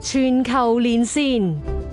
全球連線，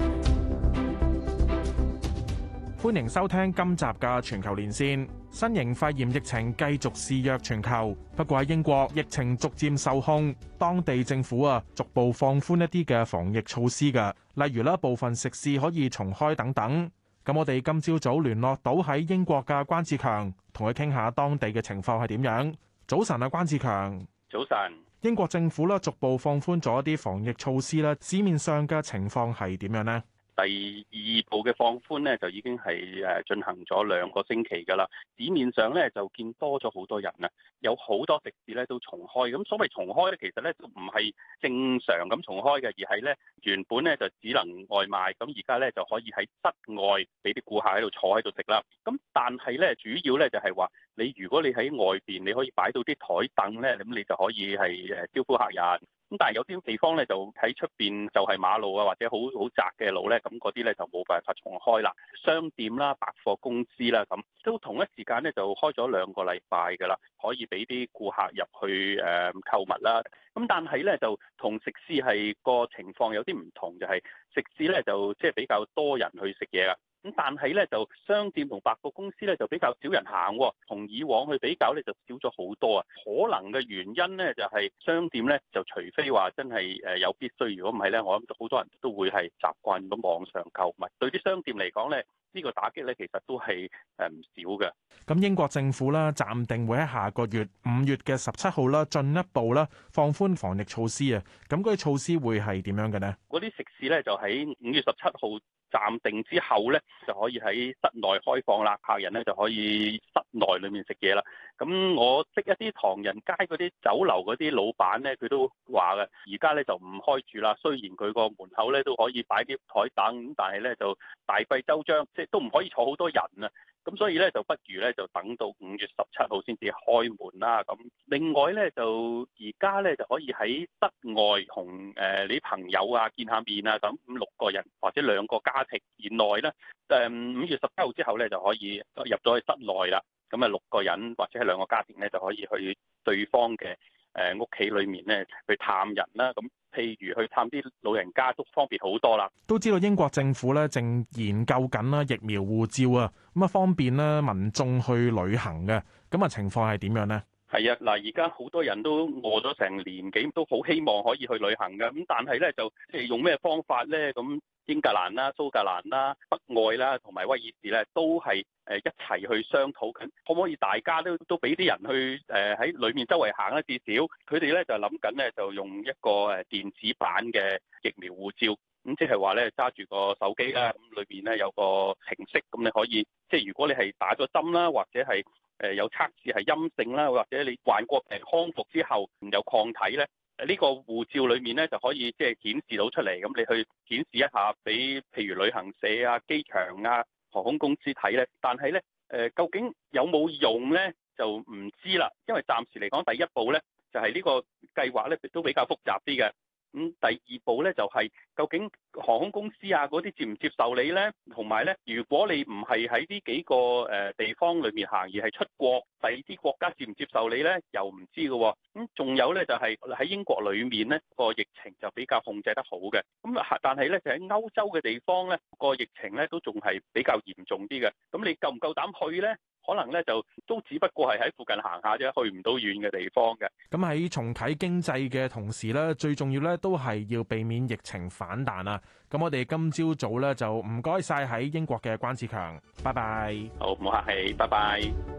歡迎收聽今集嘅全球連線。新型肺炎疫情繼續肆虐全球，不過喺英國疫情逐漸受控，當地政府逐步放寬一啲嘅防疫措施嘅，例如部分食肆可以重開等等。咁我哋今朝早聯絡到喺英國嘅關志強，同佢傾下當地嘅情況係點樣。早晨啊，關志強。 早晨。 英國政府逐步放寬咗一啲防疫措施啦，市面上嘅情況係點樣呢？ 第二步嘅放寬咧，就已經係進行咗2個星期㗎啦。市面上咧就見多咗好多人啊，有好多食肆咧都重開。咁所謂重開咧，其實咧都唔係正常咁重開嘅，而係咧原本咧就只能外賣，咁而家咧就可以喺室外俾啲顧客喺度坐喺度食啦。咁但係咧主要咧就係話，如果你喺外邊，你可以擺到啲台凳咧，咁你就可以係招呼客人。咁但係有啲地方咧就喺出邊就係馬路啊，或者好窄嘅路咧，咁嗰啲咧就冇辦法重開啦。商店啦、百貨公司啦，咁都同一時間咧就開咗2個禮拜㗎啦，可以俾啲顧客入去購物啦。咁但係咧就同食肆係個情況有啲唔同，就係食肆咧就即係比較多人去食嘢啊。咁但係咧就商店同百貨公司咧就比較少人行，同以往去比較咧就少咗好多啊。可能嘅原因咧就係商店咧就除非話真係有必須，如果唔係咧，我諗好多人都會係習慣咗網上購物。對啲商店嚟講咧，呢個打擊咧其實都係唔少嘅。 咁英國政府啦暫定會喺下個月5月嘅17號啦進一步啦放寬防疫措施啊。咁嗰啲措施會係點樣嘅呢？ 嗰啲食肆咧就喺5月17號暫定之後咧，就可以喺室內開放啦，客人咧就可以室內裏面食嘢啦。咁我識一啲唐人街嗰啲酒樓嗰啲老闆咧，佢都話嘅，而家咧就唔開住啦。雖然佢個門口咧都可以擺啲台凳，咁但係咧就大費周章，即係都唔可以坐好多人啊。咁所以咧就不如咧就等到5月17號先至開門啦。咁另外咧就而家咧就可以喺室外同你啲朋友啊見下面啊，咁5-6個人或者2個家庭以內咧，5月17號之後咧就可以入咗去室內啦。咁6個人或者係2個家庭咧就可以去對方嘅屋企裏面咧去探人啦。咁譬如去探啲老人家都方便好多啦。 都知道英國政府咧正研究緊啦疫苗護照啊，咁方便咧民眾去旅行嘅。咁情況係點樣呢？ 係啊，嗱，而家好多人都餓咗成年幾，都好希望可以去旅行嘅。咁但係咧就即係用咩方法咧？咁英格蘭啦、蘇格蘭啦、北愛啦同埋威爾士咧都係一齊去商討緊，可唔可以大家都俾啲人去喺裏面周圍行咧？至少佢哋咧就諗緊咧就用一個電子版嘅疫苗護照，咁即係話咧揸住個手機啦，咁裏面咧有個程式，咁你可以即係如果你係打咗針啦，或者係有測試係陰性啦，或者你患過病康復之後有抗體咧，呢個護照裏面咧就可以即係顯示到出嚟，咁你去顯示一下俾譬如旅行社啊、機場啊、航空公司睇咧。但係咧究竟有冇用咧就唔知啦，因為暫時嚟講第一步咧就係呢個計劃咧都比較複雜啲嘅。咁第二步咧就係究竟航空公司啊嗰啲接唔接受你呢？同埋咧，如果你唔係喺呢幾個地方裏面行，而係出國，第二啲國家接唔接受你呢？又唔知嘅喎。咁仲有咧就係喺英國裏面咧個疫情就比較控制得好嘅。咁但係咧就喺歐洲嘅地方咧個疫情咧都仲係比較嚴重啲嘅。咁你夠唔夠膽去呢？可能咧就都只不過係喺附近行下啫，去唔到遠嘅地方嘅。 咁喺重啟經濟嘅同時咧，最重要咧都係要避免疫情反彈啊！咁我哋今朝早咧就唔該晒喺英國嘅關志強，拜拜。 好，唔好客氣，拜拜。